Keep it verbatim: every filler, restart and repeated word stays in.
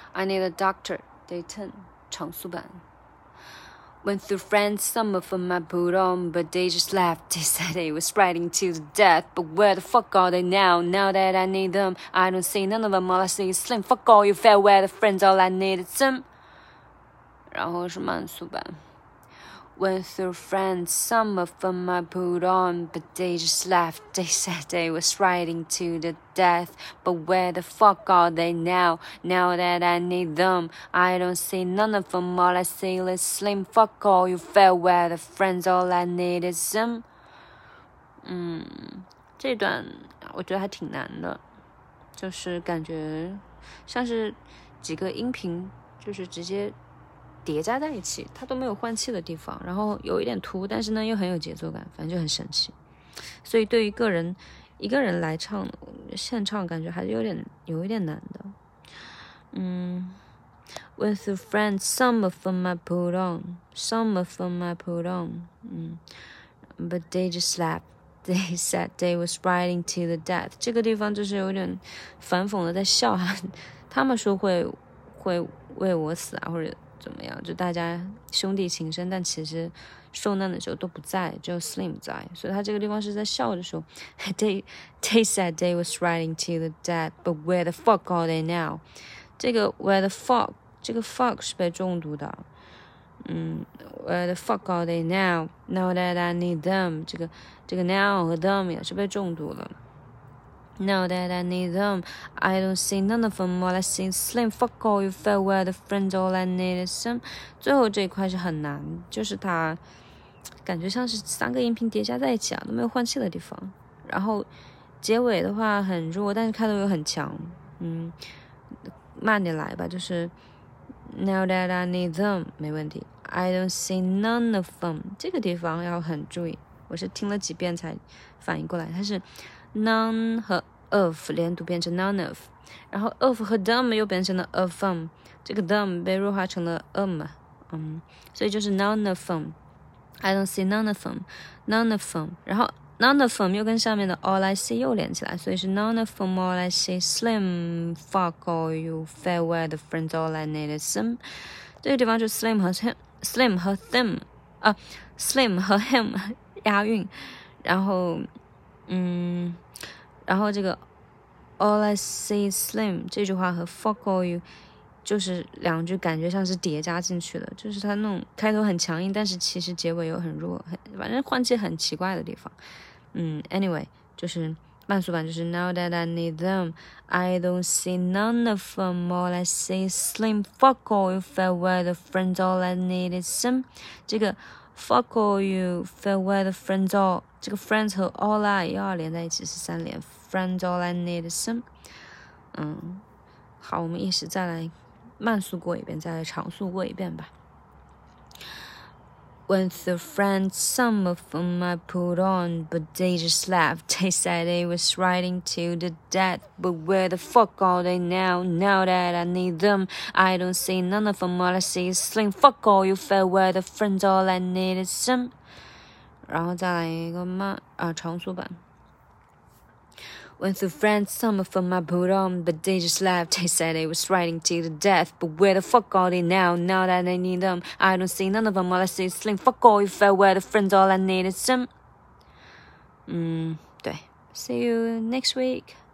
I need a doctor. Day ten 长速版。Went through friends, some of them I put on, but they just laughed. They said they was riding to the death, but where the fuck are they now? Now that I need them, I don't see none of them. All I see is slim. Fuck all you fair weather friends, all I need is some. 然后是慢速版。Went through friends, some of them I put on, but they just laughed. They said they was riding to the death, but where the fuck are they now? Now that I need them, I don't see none of them. All I see is slim. Fuck all you fair weather friends, all I need is some. 嗯，这段我觉得还挺难的，就是感觉像是几个音频，就是直接叠加在一起，它都没有换气的地方，然后有一点突，但是呢又很有节奏感，反正就很神奇。所以对于个人一个人来唱现唱，感觉还是有点有一点难的。嗯 ，With the friends, some of them I put on, some of them I put on， 嗯 ，But they just laughed. They said they was riding to the death。这个地方就是有点反讽的在笑哈，他们说会会为我死啊，或者怎么样，就大家兄弟情深，但其实受难的时候都不在，只有 Slim 在，所以他这个地方是在笑的时候。They they said they was riding to the death, but where the fuck are they now？ 这个 where the fuck 这个 fuck 是被重读的，嗯 ，where the fuck are they now? Now that I need them， 这个这个 now 和 them 也是被重读了。Now that I need them, I don't see none of them. All I see is slim. Fuck all you fair weather friends. All I need is some. 最后这一块是很难，就是它感觉像是三个音频叠加在一起啊，都没有换气的地方。然后结尾的话很弱，但是开头又很强。嗯，慢点来吧，就是 Now that I need them 没问题。I don't see none of them 这个地方要很注意，我是听了几遍才反应过来，它是。None 和 of 连读变成 none of， 然后 of 和 them 又变成了 of them， 这个 them 被弱化成了 um， 嗯，所以就是 none of them。 I don't see none of them, none of them， 然后 none of them 又跟下面的 all I see 又连起来，所以是 none of them, all I see slim. Fuck all you fair weather friends, all I need is some。 这个地方就 slim 和 him, slim 和 them 啊 slim 和 him 押韵，然后嗯，然后这个 all I see is slim 这句话和 fuck all you 就是两句感觉像是叠加进去的，就是它那种开头很强硬，但是其实结尾又很弱，很反正换气很奇怪的地方。嗯 anyway 就是慢速版就是 Now that I need them, I don't see none of them. All I see is slim. Fuck all you fair weather friends. All I need is some。 这个 fuck all you fair weather friends all， 这个 friends 和 all I 又要连在一起是三连 friends all I need is some。 嗯，好，我们一起再来慢速过一遍，再来长速过一遍吧。Went through friends, some of them I put on, but they just laughed. They said they was riding to the death, but where the fuck are they now? Now that I need them, I don't see none of them. All I see is slim. Fuck all you fair weather friends, all I need is some。 然后再来一个慢啊长速版。Went through friends, some of them I put on, but they just laughed. They said they was riding to the death, but where the fuck are they now? Now that I need them, I don't see none of them. All I see is slim. Fuck all you fair weather friends, all I need is some。 嗯，对 ，See you next week.